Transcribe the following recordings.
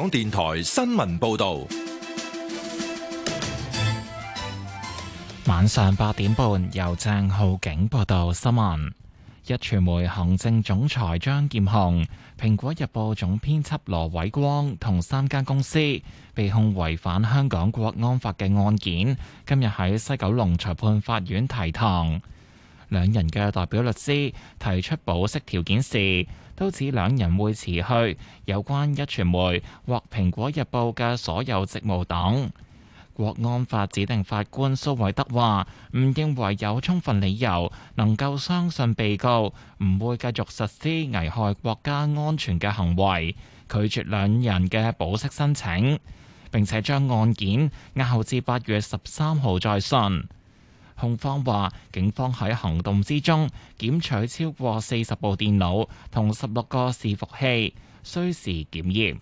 港電台新聞報道。 晚上8點半，由鄭浩景報道新聞。壹傳媒行政總裁張劍虹、蘋果日報總編輯羅偉光同3間公司被控違反香港國安法嘅案件，今日喺西九龍裁判法院提堂。兩人嘅代表律師提出保釋條件時，都指兩人會辭去有關壹傳媒或蘋果日報嘅所有職務等。國安法指定法官蘇偉德話：唔認為有充分理由能夠相信被告唔會繼續實施危害國家安全嘅行為，拒絕兩人嘅保釋申請，並且將案件押後至8月13號再訊。控方話，警方喺行動之中檢取超過40部電腦同16個伺服器，需時檢驗。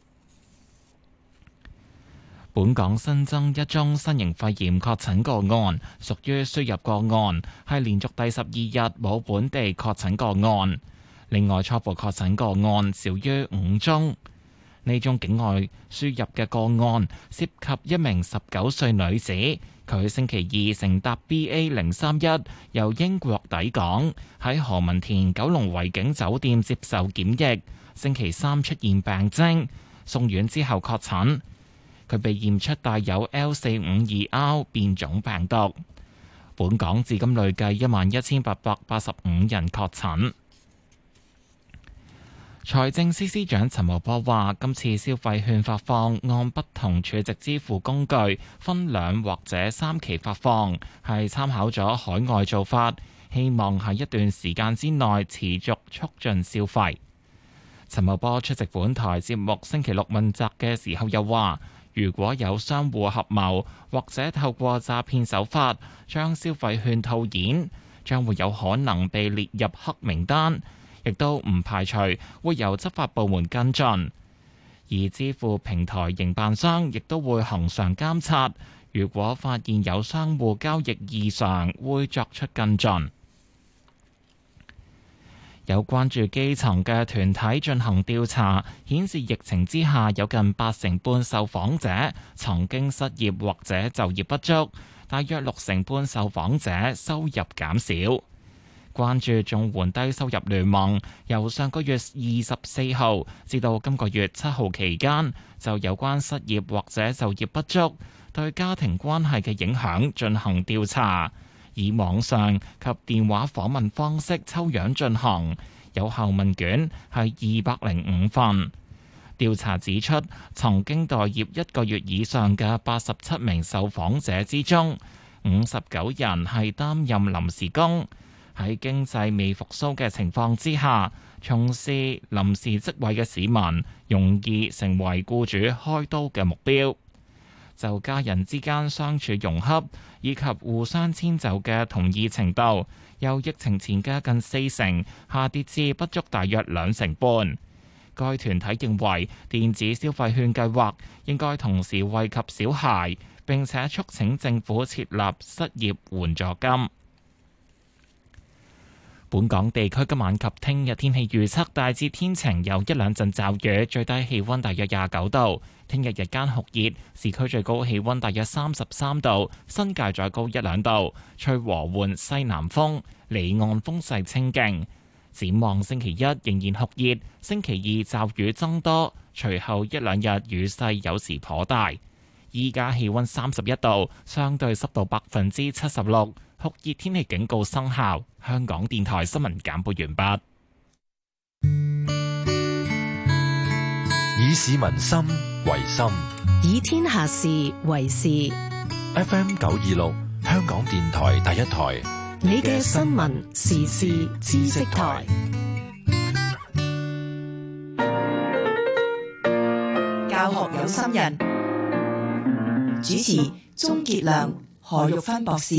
本港新增一宗新型肺炎確診個案，屬於輸入個案，係連續第12日冇本地確診個案。另外，初步確診個案少於5宗。呢宗境外輸入嘅個案涉及一名19歲女子，佢星期二乘搭 BA031 由英國抵港，喺何文田九龍維景酒店接受檢疫，星期三出現病徵，送院之後確診。佢被驗出帶有 L452R 變種病毒。本港至今累計11,885人確診。財政司司長陳茂波話：今次消費券發放按不同儲值支付工具分2或者3期發放，係參考咗海外做法，希望喺一段時間之內持續促進消費。陳茂波出席本台節目星期六問責嘅時候又話：如果有商戶合謀或者透過詐騙手法將消費券套現，將會有可能被列入黑名單，亦都唔排除會由執法部門跟進。而支付平台營辦商亦都會恆常監察，如果發現有商戶交易異常，會作出跟進。有關注基層嘅團體進行調查，顯示疫情之下有近80%半受訪者曾經失業或者就業不足，大約60%半受訪者收入減少。關注綜援低收入聯盟由上個月24號至到今個月7號期間，就有關失業或者就業不足對家庭關係嘅影響進行調查。以網上及電話訪問方式抽樣進行，有效問卷係205份。調查指出，曾經待業1個月以上嘅87名受訪者之中，59人係擔任臨時工。喺經濟未復甦嘅情況之下，從事臨時職位嘅市民容易成為僱主開刀嘅目標。就家人之間相處融洽以及互相遷就嘅同意程度，由疫情前嘅近40%下跌至不足大約2成半。該團體認為電子消費券計劃應該同時惠及小孩，並且促請政府設立失業援助金。本港地區今晚及聽日天氣預測大致天晴，有1兩陣驟雨，最低氣溫大約29度。聽日日間酷熱，市區最高氣溫大約33度，新界再高1兩度，吹和緩西南風，離岸風勢清勁。展望星期一仍然酷熱，星期二驟雨增多，隨後1兩日雨勢有時頗大。依家氣溫31度，相對濕度76%，酷熱天氣警告生效。香港電台新聞簡報完畢。 以市民心為心， 以天下事為事。 FM 926，香港電台第一台， 你嘅新聞時事知識台。教學有心人，主持鍾傑良、何玉芬博士。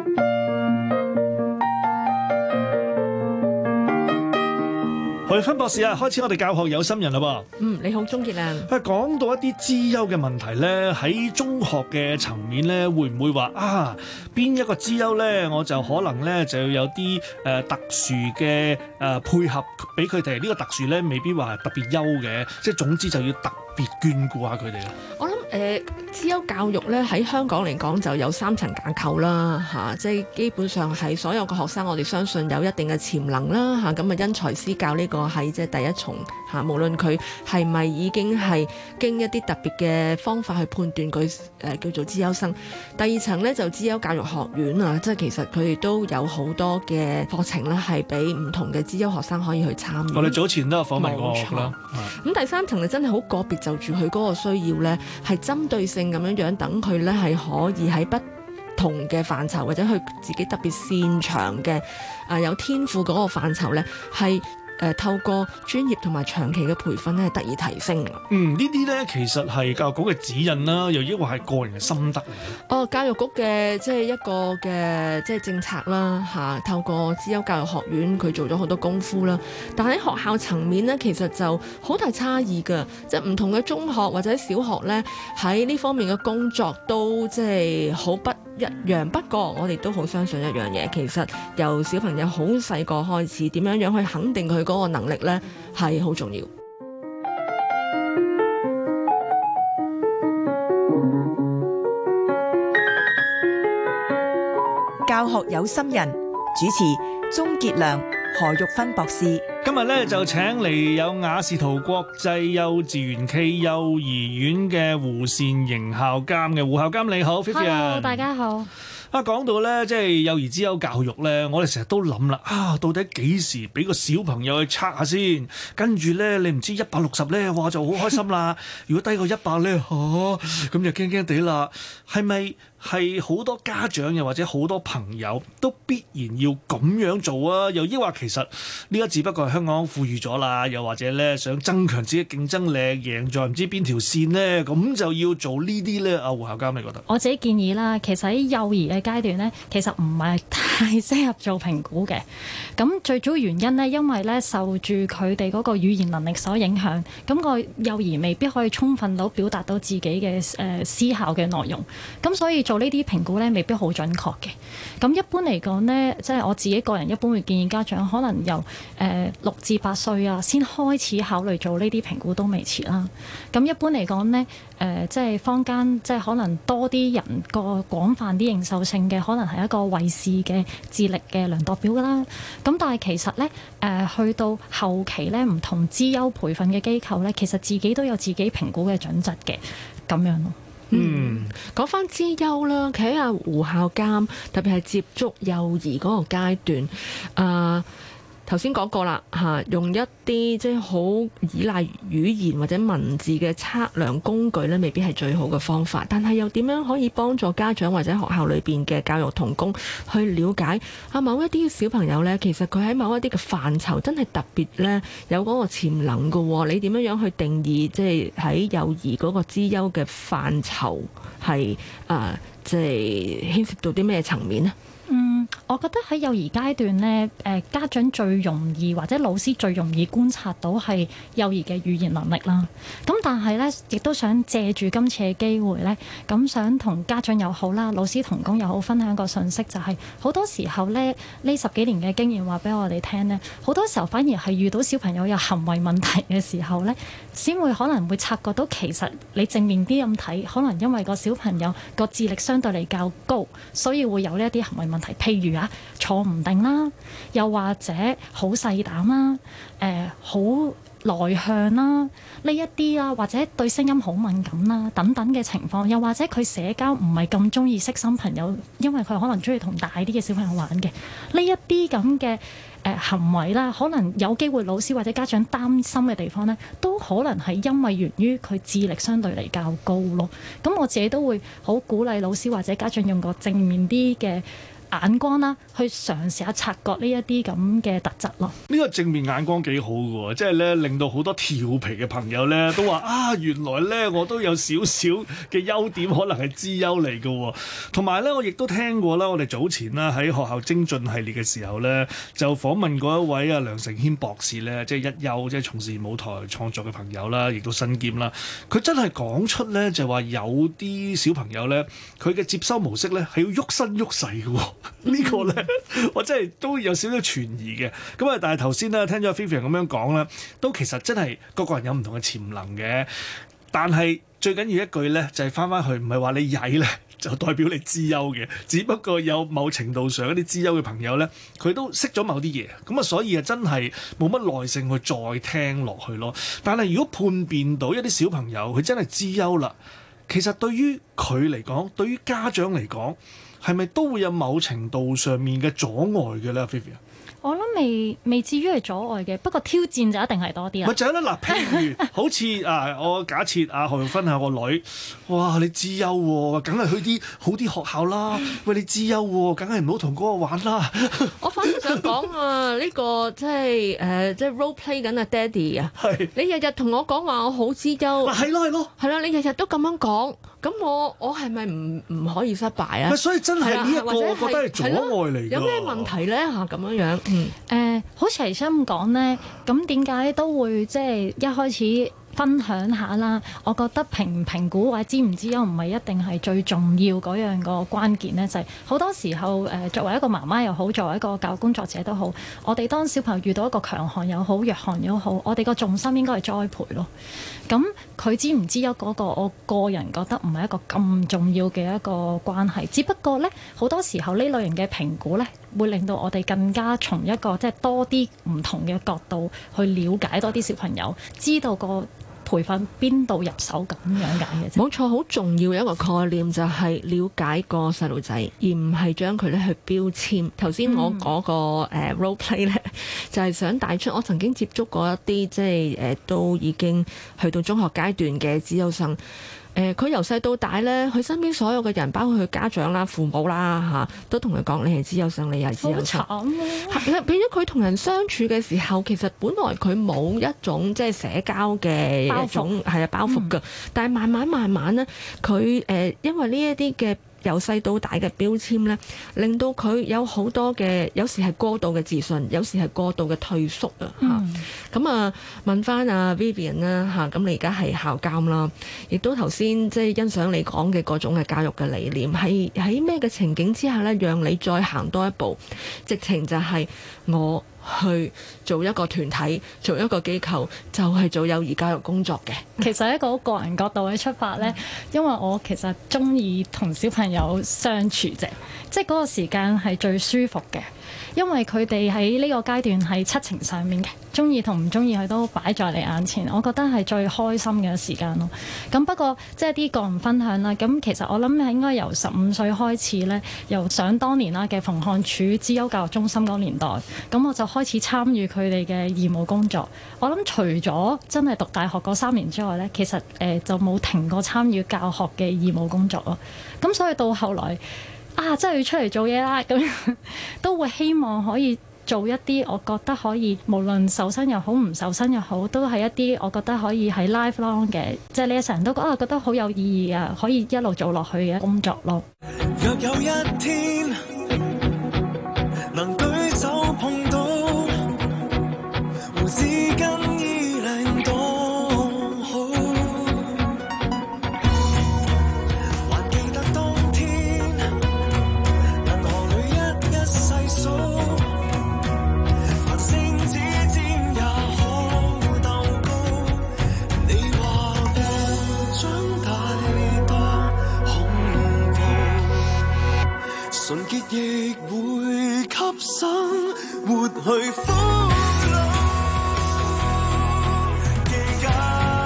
何玉芬博士啊，開始我哋教學有心人啦噃。 你好，鍾傑良。 講到一啲資優嘅問題咧，喺中學嘅層面咧，會唔會話邊一個資優咧，我就可能咧就要有啲特殊嘅配合俾佢哋？呢個特殊咧，未必話係特別優嘅，即係總之就要特別眷顧下佢哋咧？ 我諗資優教育咧喺香港嚟講就有3層架構啦嚇，即係基本上係所有嘅學生，我哋相信有一定嘅潛能啦嚇，咁啊因材施教呢個係即係第一重嚇，無論佢係咪已經係經一啲特別嘅方法去判斷佢叫做資優生。第二層呢，就資優教育學院啊，即係其實佢哋都有好多嘅課程咧係俾唔同嘅資優學生可以去參與。 我哋早前都有訪問過啦。 咁第三層就真係好個別就住佢嗰個需要呢，係針對性咁樣樣等佢呢係可以喺不同嘅範疇或者佢自己特別擅長嘅有天賦嗰個範疇呢，係透過專業同埋長期嘅培訓咧，係得以提升。 呢啲咧其實係教育局嘅指引啦，又抑或係個人嘅心得嚟嘅。 教育局嘅即係一個嘅即係政策啦嚇，透過資優教育學院佢做咗好多功夫啦。但喺學校層面呢，其實就好大差異㗎，即係唔同嘅中學或者小學呢，喺呢方面嘅工作都即係好不一樣。不過我哋都好相信一樣嘢，其實由小朋友好細個開始，點樣樣去肯定佢嗰個能力呢，係好重要。 教學有心人，主持鍾傑良、何玉芬博士。 今日咧就請嚟有雅士圖國際幼稚園暨幼兒園嘅胡善瑩校監嘅。胡校監你好 Hello， 大家好。 講到咧，即係幼兒資優教育咧，我哋成日都諗啦，到底幾時俾個小朋友去測下先？跟住咧，你唔知160咧，哇就好開心啦。如果低過100咧，咁就驚驚地啦。係咪係好多家長又或者好多朋友都必然要咁樣做啊？又抑或其實呢個只不過係香港富裕咗啦，又或者咧想增強自己競爭力，贏在唔知邊條線咧，咁就要做呢啲咧？胡校監你覺得？ 我自己建議啦，其實喺幼兒嘅階段咧，其實唔係太適合做評估嘅。咁最主要原因咧，因為咧受住佢哋嗰個語言能力所影響，咁個幼兒未必可以充分到表達到自己嘅思考嘅內容。咁所以做呢啲評估咧，未必好準確嘅。咁一般嚟講呢，即係我自己個人一般會建議家長可能由6至8歲啊，先開始考慮做呢啲評估都未遲啦。咁一般嚟講呢，即係坊間即係可能多啲人個廣泛啲認受性嘅，可能係一個衛士嘅智力嘅量度表啦。咁但係其實呢，去到後期呢，唔同資優培訓嘅機構呢，其實自己都有自己評估嘅準則嘅，咁樣咯。 講翻資優啦，企喺阿胡校監，特別係接觸幼兒嗰個階段，頭先講過啦嚇，用一啲即係好依賴語言或者文字嘅測量工具咧，未必係最好嘅方法。但係又點樣可以幫助家長或者學校裏邊嘅教育同工去了解某一啲小朋友呢？其實佢喺某一啲嘅範疇真係特別呢，有嗰個潛能嘅喎。你點樣去定義即係喺幼兒嗰個資優嘅範疇係即係牽涉到啲咩層面呢？ 我覺得喺幼兒階段呢，家長最容易或者老師最容易觀察到係幼兒嘅語言能力啦。咁但係呢，亦都想借住今次嘅機會呢，咁想同家長又好啦，老師同工又好分享個信息，就係好多時候呢10幾年嘅經驗話俾我哋聽呢，好多時候反而係遇到小朋友有行為問題嘅時候呢，先會可能會察覺到其實你正面啲咁睇，可能因為個小朋友個智力相對嚟較高，所以會有呢一啲行為問題，譬如坐唔定啦，又或者好細膽啦，好內向啦，呢一啲啦，或者對聲音好敏感啦，等等嘅情況，又或者佢社交唔係咁中意識新朋友，因為佢可能中意同大啲嘅小朋友玩嘅，呢一啲咁嘅行為啦，可能有機會老師或者家長擔心嘅地方呢，都可能係因為源於佢智力相對嚟較高咯。咁我自己都會好鼓勵老師或者家長用個正面啲嘅眼光啦，去嘗試下察覺呢一啲咁嘅特質咯。 呢個正面眼光幾好嘅喎，即係咧令到好多調皮嘅朋友咧都話原來咧我都有少少嘅優點，可能係資優嚟嘅喎。同埋咧，我亦都聽過啦，我哋早前啦喺學校精進系列嘅時候咧，就訪問過一位梁成謙博士咧，即係一優，即係從事舞台創作嘅朋友啦，亦都身兼啦。佢真係講出咧，就話有啲小朋友咧，佢嘅接收模式咧係要喐身喐勢嘅喎。呢個咧，我真係都有少少存疑嘅。咁啊，但係頭先咧聽咗 Vivian 咁樣講咧，都其實真係個個人有唔同嘅潛能嘅。 但係最緊要一句咧，就係翻去，唔係話你曳咧就代表你資優嘅，只不過有某程度上一啲資優嘅朋友咧，佢都識咗某啲嘢，咁啊所以啊真係冇乜耐性去再聽落去咯。但係如果判別到一啲小朋友佢真係資優啦，其實對於佢嚟講，對於家長嚟講，係咪都會有某程度上面嘅阻礙嘅咧 Vivian？ 我諗未至於係阻礙嘅，不過挑戰就一定係多啲啦。 咪就係啦，嗱，譬如好似我假設何玉芬係我女，哇，你資優喎，梗係去啲好啲學校啦。喂，你資優喎，梗係唔好同嗰個玩啦。 我反而想講啊，呢個即係 role play 緊啊，爹哋啊， 係你日日同我講話我好資優， 嗱，係咯， 係啦，你日日都咁樣講，咁我係咪唔可以失敗啊？ 咪所以真係呢一個，我覺得係阻礙嚟㗎。 有咩問題咧嚇咁樣？ 好似頭先咁講咧，咁點解都會即係一開始分享下啦？我覺得評唔評估或者知唔知優唔係一定係最重要嗰樣個關鍵咧，就係好多時候作為一個媽媽又好，作為一個教育工作者都好，我哋當小朋友遇到一個強項又好、弱項又好，我哋個重心應該係栽培咯。咁佢知唔知優嗰個，我個人覺得唔係一個咁重要嘅一個關係。只不過咧，好多時候呢類型嘅評估咧，會令到我哋更加從一個即係多啲唔同嘅角度去了解多啲小朋友，知道個培訓邊度入手咁樣解嘅啫。 冇錯，好重要嘅一個概念就係了解個細路仔，而唔係將佢咧去標籤。頭先我嗰個role play 咧，就係想帶出我曾經接觸過一啲即係都已經去到中學階段嘅資優生。佢由細到大咧，佢身邊所有嘅人，包括佢家長啦、父母啦都同佢講：你係資優生，你係資優生。 好慘啊！ 變咗佢同人相處嘅時候，其實本來佢冇一種即係社交嘅一種包袱㗎，但係慢慢咧，佢因為呢一啲嘅由細到大嘅標籤咧，令到佢有好多嘅，有時係過度嘅自信，有時係過度嘅退縮咁問翻阿 Vivian 啦咁你而家係校監啦，亦都頭先即係欣賞你講嘅嗰種嘅教育嘅理念，係喺咩嘅情景之下咧，讓你再行多一步，直情就係我去做一個團體，做一個機構，就係做幼兒教育工作嘅。 其實一個好個人角度去出發呢，因為我其實中意同小朋友相處啫，即係嗰個時間係最舒服嘅。因為佢哋喺呢個階段係七情上面嘅，中意同唔中意佢都擺在你眼前，我覺得係最開心嘅時間咯。咁不過即係啲個人分享啦。咁其實我諗係應該由15歲開始呢，由想當年啦嘅馮漢署資優教育中心嗰年代，咁我就開始參與佢哋嘅義務工作。我諗除咗真係讀大學嗰3年之外呢，其實就冇停過參與教學嘅義務工作咯。咁所以到後來真係要出嚟做嘢啦，咁都會希望可以做一啲我覺得可以無論受薪又好唔受薪又好，都係一啲我覺得可以喺 lifelong 嘅，即係你成日都覺得好有意義啊，可以一路做落去嘅工作咯。 若有一天能舉手碰到胡紙巾衣領多好，還記得當天銀河裏一細數，繁星指尖也可鬥高。你話我長大多恐怖，純潔亦會給生活去俘虜。期間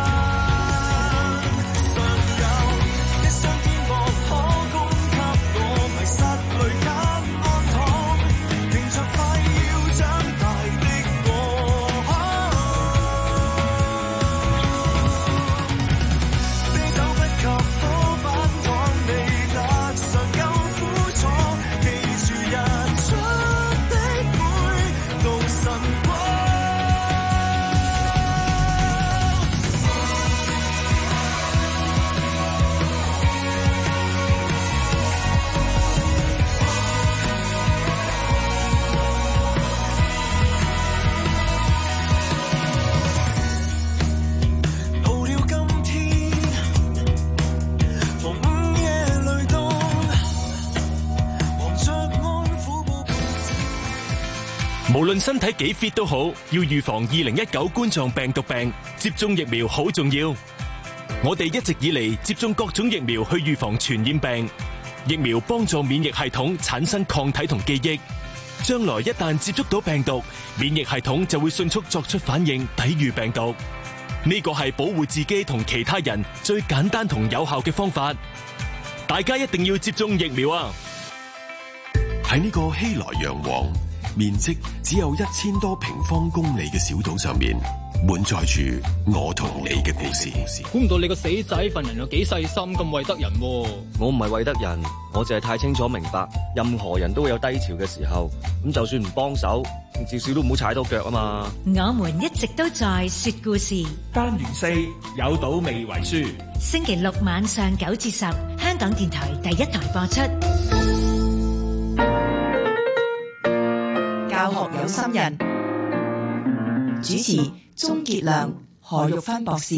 尚有一雙天幕可供給我迷失裏間安躺，迎着快要長大的我，啤酒不及好板糖，未達上夠苦楚，記住日出的每道晨光。到了今天，逢午夜雷動，忙着安撫寶貝。 無論身體幾 fit 都好，要預防2019冠狀病毒病，接種疫苗好重要。 我哋一直以嚟接種各種疫苗去預防傳染病，疫苗幫助免疫系統產生抗體同記憶，將來一旦接觸到病毒，免疫系統就會迅速作出反應，抵禦病毒。呢個係保護自己同其他人最簡單同有效嘅方法，大家一定要接種疫苗啊！ 喺呢個熙來攘往、面積只有1000多平方公里嘅小島上面，滿載住我同你嘅故事。 估唔到你個死仔份人又幾細心，咁為得人喎。 我唔係為得人，我淨係太清楚明白，任何人都會有低潮嘅時候。咁就算唔幫手，至少都唔好踩到腳啊嘛。 我們一直都在說故事。 單元4有賭未為輸。 星期六晚上9至10，香港電台第1台播出。 教學有心人，主持鍾傑良、何玉芬博士。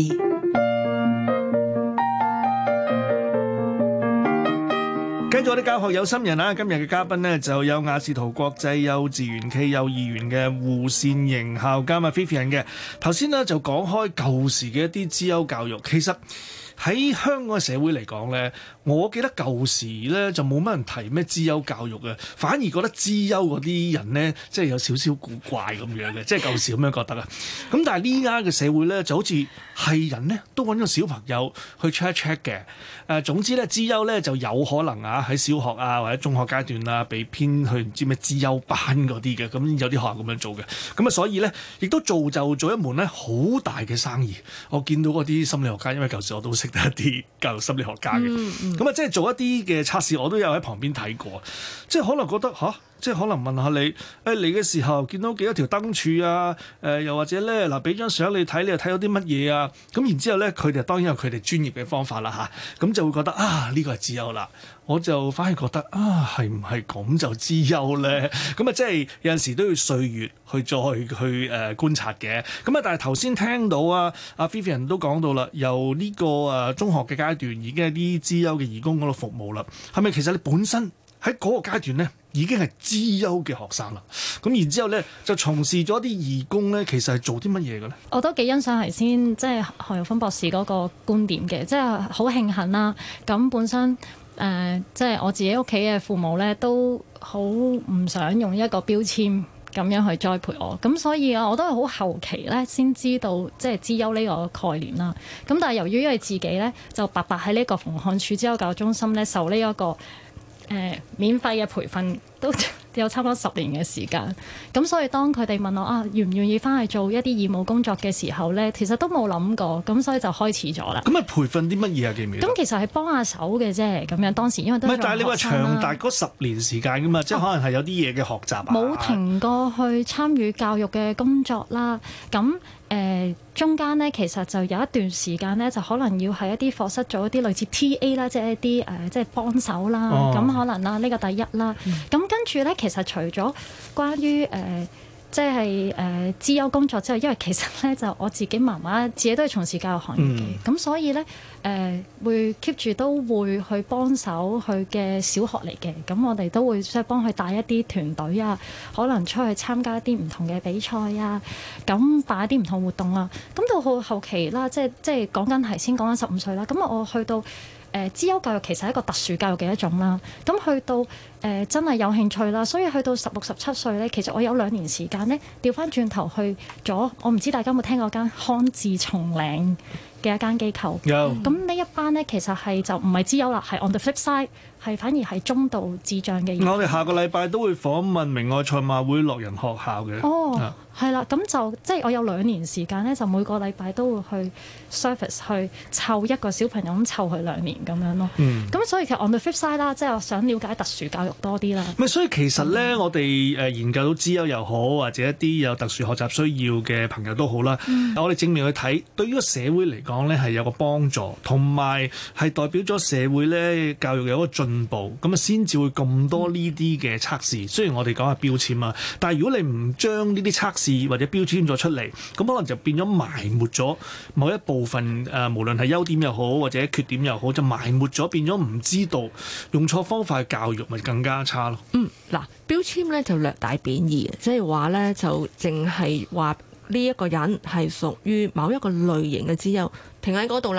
跟住我哋教學有心人啦，今日嘅嘉賓呢，就有雅士圖國際幼稚園暨幼兒園嘅胡善瑩校監啊 Vivian 嘅。頭先呢，就講開舊時嘅一啲資優教育，其實喺香港嘅社會嚟講呢，我記得舊時呢就冇乜人提咩資優教育嘅，反而覺得資優嗰啲人呢，即係有少少古怪咁樣嘅，即係舊時咁樣覺得啊。咁但係呢家嘅社會呢，就好似係人呢都揾個小朋友去 check 一 check 嘅。總之呢，資優呢就有可能啊喺小學啊或者中學階段啊被編去唔知咩資優班嗰啲嘅，咁有啲學校咁樣做嘅。咁啊所以呢，亦都造就咗一門呢好大嘅生意。我見到嗰啲心理學家，因為舊時我都識得一啲教育心理學家嘅，咁啊即係做一啲嘅測試，我都有喺旁邊睇過，即係可能覺得即係可能問下你，嚟嘅時候見到幾多條燈柱啊？又或者咧嗱，俾張相你睇，你又睇到啲乜嘢啊？咁然之後咧，佢哋當然有佢哋專業嘅方法啦嚇，咁就會覺得呢個係資優啦。我就反而覺得係唔係咁就資優咧？咁啊，即係有陣時都要歲月去再去觀察嘅。咁啊，但係頭先聽到阿 Vivian 都講到啦，由呢個中學嘅階段已經係啲資優嘅義工嗰度服務啦。係咪其實你本身喺嗰個階段咧已經係資優嘅學生啦？咁然之後咧就從事咗啲義工咧，其實係做啲乜嘢嘅咧？ 我都幾欣賞頭先即係何玉芬博士嗰個觀點嘅，即係好慶幸啦。咁本身即係我自己屋企嘅父母咧，都好唔想用一個標籤咁樣去栽培我，咁所以我都係好後期咧先知道即係資優呢個概念啦。咁但係由於因為自己咧就白白喺呢個馮漢署資優教育中心咧受呢一個免費嘅培訓都有差唔多10年嘅時間，咁所以當佢哋問我願唔願意翻去做一啲義務工作嘅時候咧，其實都冇諗過，咁所以就開始咗啦。 咁啊，培訓啲乜嘢啊？記唔記得？ 咁其實係幫下手嘅啫，咁樣當時因為都係但係你話長達嗰10年時間噶嘛，即係可能係有啲嘢嘅學習啊。 冇停過去參與教育嘅工作啦，咁中間咧其實就有一段時間咧，就可能要喺一啲課室做一啲類似 TA 啦，即係一啲即係幫手啦，咁可能啦呢個第一啦。咁跟住咧，其實除咗關於即係資優工作之後，因為其實咧就我自己媽媽自己都係從事教育行業嘅，咁所以咧會 keep 住都會去幫手佢嘅小學嚟嘅，咁我哋都會即係幫佢帶一啲團隊啊，可能出去參加一啲唔同嘅比賽啊，咁辦一啲唔同活動啊，咁到後期啦，即係講緊係先講緊15歲啦，咁我去到資優教育其實係一個特殊教育嘅一種啦，咁去到真係有興趣啦，所以去到16、17歲咧，其實我有2年時間咧調翻轉頭去咗，我唔知大家有冇聽過間康智松嶺嘅一間機構，咁呢一班咧其實係就唔係資優啦，係 on the flip side，係反而係中度智障嘅。 我哋下個禮拜都會訪問明愛賽馬會樂仁學校嘅。 係啦，咁就即係我有2年時間咧，就每個禮拜都會去 service 去湊一個小朋友，咁湊佢2年咁樣咯。咁所以其實 on the flip side 啦，即係我想了解特殊教育多啲啦。 所以其實咧，我哋研究到資優又好，或者一啲有特殊學習需要嘅朋友都好啦。我哋正面去睇，對於個社會嚟講咧係有個幫助，同埋係代表咗社會咧教育有一個進步，咁啊先至會咁多呢啲嘅測試。雖然我哋講係標籤啊，但係如果你唔將呢啲測試或者標籤咗出嚟，咁可能就變咗埋沒咗某一部分無論係優點又好或者缺點又好，就埋沒咗，變咗唔知道用錯方法去教育，咪更加差咯。 嗱，標籤咧就略帶貶義，即係話咧就淨係話呢一個人係屬於某一個類型嘅資優，停喺嗰度啦。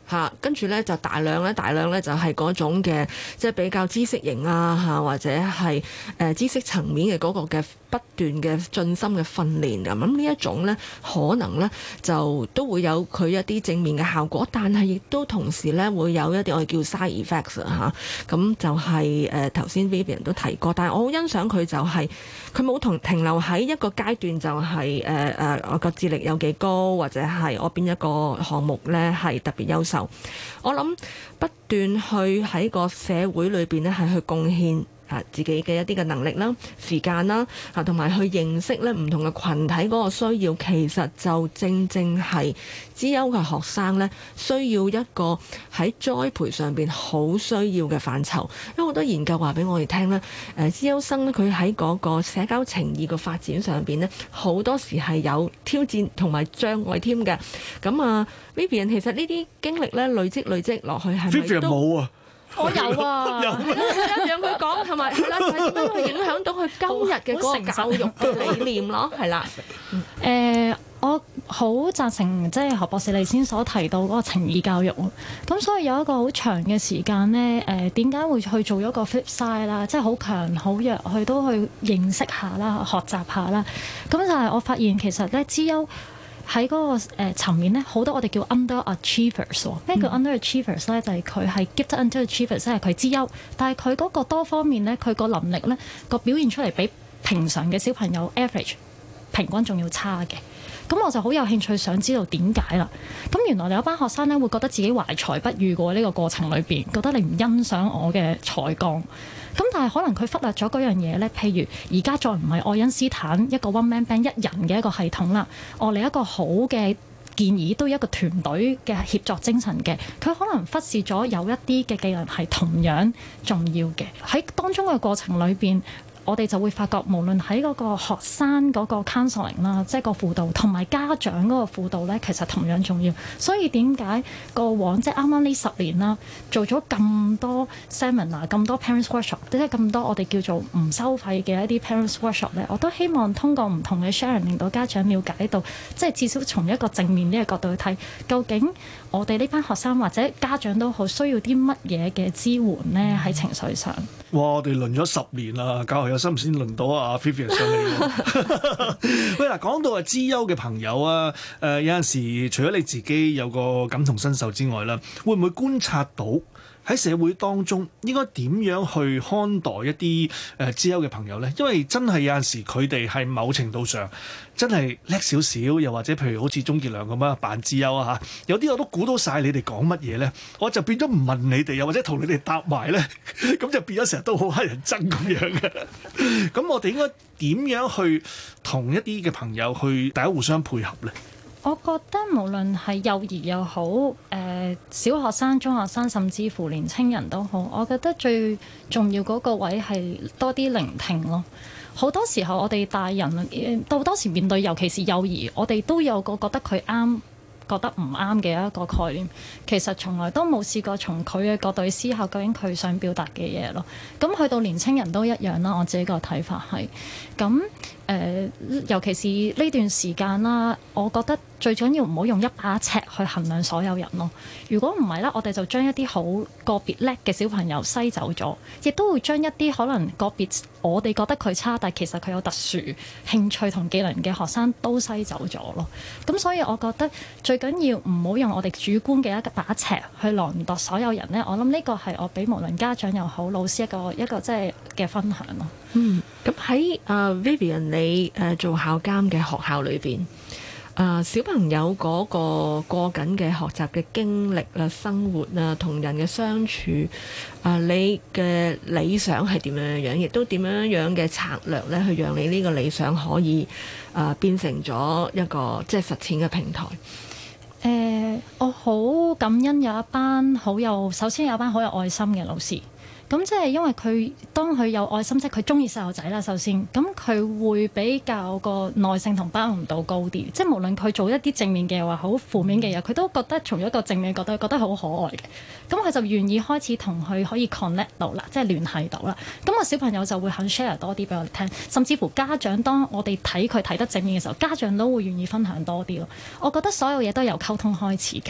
嚇，跟住咧就大量咧就係嗰種嘅即係比較知識型啊嚇，或者係知識層面嘅嗰個嘅不斷嘅進深嘅訓練咁。咁呢一種咧可能咧就都會有佢一啲正面嘅效果，但係亦都同時咧會有一啲我哋叫 side effects 嚇。咁就係頭先 Vivian 都提過，但係我好欣賞佢就係佢冇停留喺一個階段，就係我個智力有幾高，或者係我邊一個項目咧係特別優秀。我諗不斷去喺個社會裏邊咧係去貢獻自己嘅一啲嘅能力啦、時間啦，同埋去認識咧唔同嘅群體嗰個需要，其實就正係資優嘅學生咧需要一個喺栽培上邊好需要嘅範疇。因為好多研究話俾我哋聽咧，資優生咧佢喺嗰個社交情誼嘅發展上邊咧，好多時係有挑戰同埋障礙添嘅。咁啊 Vivian 其實呢啲經歷咧累積落去係咪都冇啊？ 我有啊，讓佢講係咪係啦？就係點樣去影響到佢今日嘅嗰個教育嘅理念咯？係啦， 我好贊成即係何博士你先所提到嗰個情義教育。咁所以有一個好長嘅時間呢，點解會去做一個 flip side 啦？即係好強好弱，佢都去認識下啦，學習下啦。咁就係我發現其實咧資優喺嗰個層面咧，好多我哋叫 underachievers。咩叫 underachievers 咧？就係佢係 gifted underachievers，即係佢資優，但係佢嗰個多方面咧，佢個能力咧個表現出嚟比平常嘅小朋友 average 平均仲要差嘅。咁我就好有興趣想知道點解啦。咁原來有一班學生咧會覺得自己懷才不遇過呢個過程裏邊，覺得你唔欣賞我嘅才幹。咁但係可能佢忽略咗嗰樣嘢咧，譬如而家再唔係愛因斯坦一個 one man band 一人嘅一個系統啦，我哋一個好嘅建議都一個團隊嘅協作精神嘅，佢可能忽視咗有一啲嘅技能係同樣重要嘅。喺當中嘅過程裏邊，我哋就會發覺，無論喺嗰個學生嗰個 counseling 啦，即係個輔導，同埋家長嗰個輔導咧，其實同樣重要。所以點解過往即係啱啱呢10年啦，做咗咁多 seminar、咁多 parents workshop， 即係咁多我哋叫做唔收費嘅一啲 parents workshop 咧，我都希望通過唔同嘅 sharing，令到家長了解到，即係至少從一個正面呢個角度去睇，究竟我哋呢班學生或者家長都好需要啲乜嘢嘅支援咧喺情緒上。 哇！我哋輪咗10年啦，教學有心先輪到阿 Vivian 上嚟喎。喂嗱，講到資優嘅朋友啊，有陣時除咗你自己有個感同身受之外啦，會唔會觀察到喺社會當中應該點樣去看待一啲資優嘅朋友咧？因為真係有陣時佢哋係某程度上真係叻少少，又或者譬如好似鍾傑良咁啊扮資優啊嚇，有啲我都估到晒你哋講乜嘢咧，我就變咗唔問你哋，又或者同你哋答埋咧，咁就變咗成日都好乞人憎咁樣嘅。咁我哋應該點樣去同一啲嘅朋友去大家互相配合咧？ 我覺得無論係幼兒又好，小學生、中學生，甚至乎年青人都好，我覺得最重要嗰個位係多啲聆聽咯。好多時候我哋大人到多時面對，尤其是幼兒，我哋都有個覺得佢啱，覺得唔啱嘅一個概念，其實從來都冇試過從佢嘅角度去思考究竟佢想表達嘅嘢咯。咁去到年青人都一樣啦，我自己個睇法係咁。尤其是呢段時間啦，我覺得最緊要唔好用一把尺去衡量所有人咯。如果唔係咧，我哋就將一啲好個別叻嘅小朋友篩走咗，亦都會將一啲可能個別我哋覺得佢差，但其實佢有特殊興趣同技能嘅學生都篩走咗咯。咁所以我覺得最緊要唔好用我哋主觀嘅一把尺去量度所有人咧。我諗呢個係我俾無論家長又好老師一個即係嘅分享咯。 咁喺Vivian 你做校監嘅學校裏邊，小朋友嗰個過緊嘅學習嘅經歷啦、生活啊、同人嘅相處，你嘅理想係點樣樣，亦都點樣樣嘅策略咧，去讓你呢個理想可以變成咗一個即係實踐嘅平台。 我好感恩有一班首先有一班好有愛心嘅老師。咁即係因為當佢有愛心，即係佢中意細路仔啦。首先，咁佢會比較個耐性同包容度高啲。即係無論佢做一啲正面嘅或好負面嘅嘢，佢都覺得從一個正面嘅角度，覺得好可愛嘅。咁佢就願意開始同佢可以 connect 到啦，即係聯繫到啦。咁個小朋友就會肯 share 多啲俾我哋聽，甚至乎家長當我哋睇佢睇得正面嘅時候，家長都會願意分享多啲咯。我覺得所有嘢都由溝通開始嘅。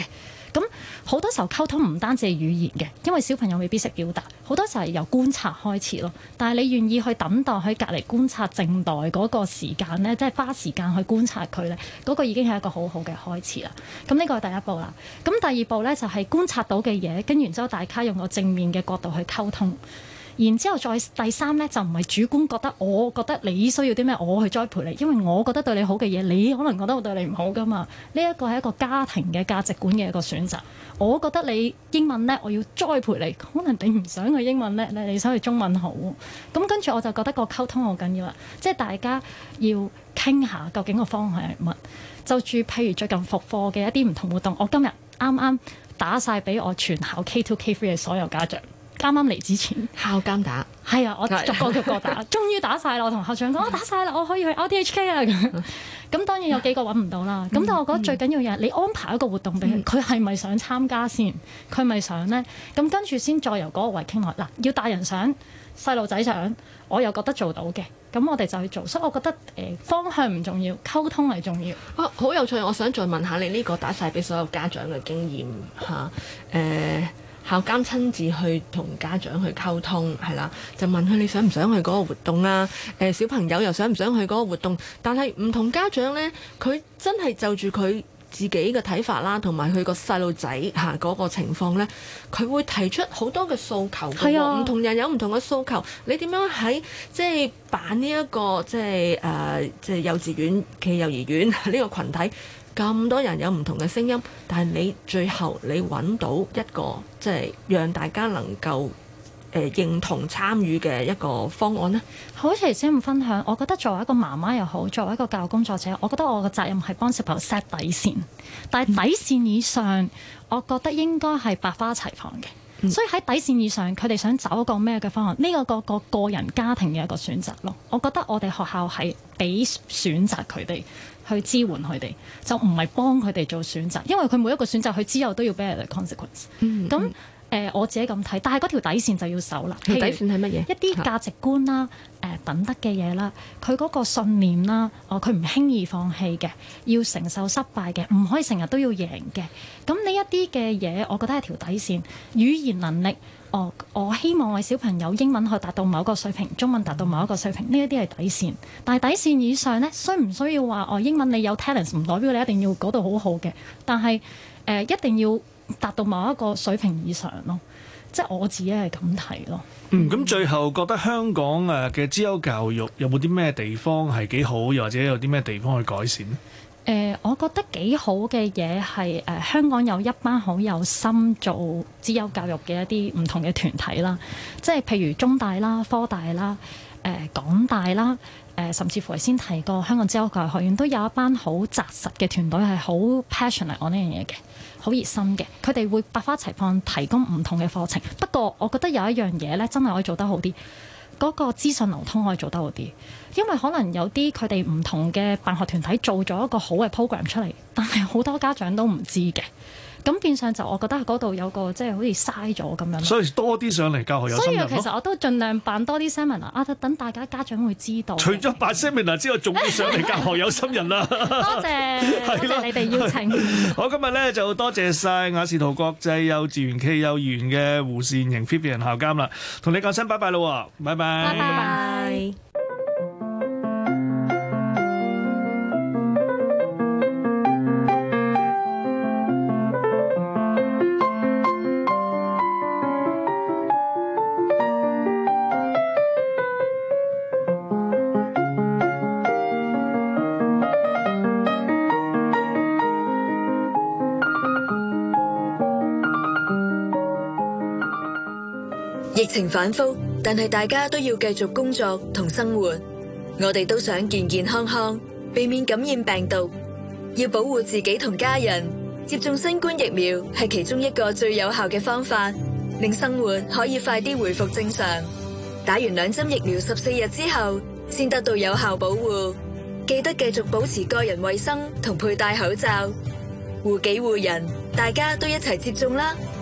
咁好多時候溝通唔單止係語言嘅，因為小朋友未必識表達，好多時候係由觀察開始咯。但係你願意去等待喺隔離觀察靜待嗰個時間咧，即係花時間去觀察佢咧，嗰個已經係一個好好嘅開始啦。咁呢個係第一步啦。咁第二步咧就係觀察到嘅嘢，跟完之後大家用個正面嘅角度去溝通。然之後再第三咧就唔係主觀覺得，我覺得你需要啲咩，我去栽培你，因為我覺得對你好嘅嘢，你可能覺得我對你唔好噶嘛。呢一個係一個家庭嘅價值觀嘅一個選擇。我覺得你英文叻，我要栽培你，可能你唔想去英文叻咧，你想去中文好。咁跟住我就覺得個溝通好緊要啦，即係大家要傾下究竟個方向係乜。就住譬如最近復課嘅一啲唔同活動，我今日啱啱打晒俾我全校 K2 K3 嘅所有家長。啱啱嚟之前， 校監打係啊，我逐個打，終於打晒啦！我同校長講，我打晒啦，我可以去 RTHK 啊咁。咁當然有幾個揾唔到啦。咁但係我覺得最緊要嘅係你安排一個活動俾佢，佢係咪想參加先？佢咪想咧？咁跟住先再由嗰個位傾落。嗱，要大人想，細路仔想，我又覺得做到嘅，咁我哋就去做。所以我覺得方向唔重要，溝通係重要。 好有趣！我想再問下你呢個打晒俾所有家長嘅經驗嚇校監親自去同家長去溝通，係啦，就問佢你想唔想去嗰個活動啊？小朋友又想唔想去嗰個活動？但係唔同家長呢，佢真係就住佢自己嘅睇法啦，同埋佢個細路仔嚇嗰個情況呢，佢會提出好多嘅訴求嘅喎。唔同人有唔同嘅訴求，你點樣喺即係辦呢一個即係幼稚園暨幼兒園呢個群體？咁多人有唔同嘅聲音，但係你最後你揾到一個即係讓大家能夠認同參與嘅一個方案呢？ 好似先咁分享，我覺得作為一個媽媽又好，作為一個教育工作者，我覺得我嘅責任係幫小朋友 set 底線，但係底線以上，我覺得應該係百花齊放嘅。所以喺底線以上，佢哋想走一個咩嘅方案？呢個個人家庭嘅一個選擇咯。我覺得我哋學校係俾選擇佢哋，去支援佢哋，就唔係幫佢哋做選擇，因為佢每一個選擇佢之後都要 bear the consequence。咁我自己咁睇，但係嗰條底線就要守啦。 條底線係乜嘢？ 一啲價值觀啦、品德嘅嘢啦，佢嗰個信念啦，佢唔輕易放棄嘅，要承受失敗嘅，唔可以成日都要贏嘅。咁呢一啲嘅嘢，我覺得係條底線。語言能力，我希望我小朋友英文可以達到某一個水平，中文達到某一個水平，呢一啲係底線。但係底線以上呢，需唔需要話英文你有 talent 唔代表你一定要嗰度好好嘅，但係一定要達到某一個水平以上咯，即係我自己係咁睇咯。 咁最後覺得香港嘅資優教育有冇啲咩地方係幾好，又或者有啲咩地方去改善呢？ 我覺得幾好嘅嘢係香港有一班好有心做資優教育嘅一啲唔同嘅團體啦，即係譬如中大啦、科大啦、港大啦。甚至乎係先提過香港資優教育學院都有一班好紮實嘅團隊係好 passionate on 呢樣嘢嘅，好熱心嘅。佢哋會百花齊放提供唔同嘅課程。不過我覺得有一樣嘢咧，真係可以做得好啲，嗰個資訊流通可以做得好啲。因為可能有啲佢哋唔同嘅辦學團體做咗一個好嘅 program 出嚟，但係好多家長都唔知嘅。咁變相就我覺得喺嗰度有個即係好似嘥咗咁樣。所以多啲上嚟教學有心人咯。 所以其實我都盡量辦多啲 seminar 等大家家長會知道。 除咗辦 seminar 之外，仲要上嚟教學有心人啦。 多謝你哋邀請。 好，今日咧就多謝晒雅士圖國際幼稚園暨幼兒園嘅胡善瑩 Vivian 校監啦，同你講聲拜拜咯，拜拜。 拜拜。 疫情反覆，但係大家都要繼續工作同生活。我哋都想健健康康，避免感染病毒。要保護自己同家人，接種新冠疫苗係其中一個最有效嘅方法，令生活可以快啲回復正常。打完2針疫苗14日之後，先得到有效保護。記得繼續保持個人衛生同佩戴口罩，護己護人，大家都一齊接種啦！